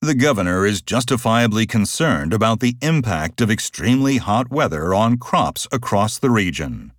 The governor is justifiably concerned about the impact of extremely hot weather on crops across the region.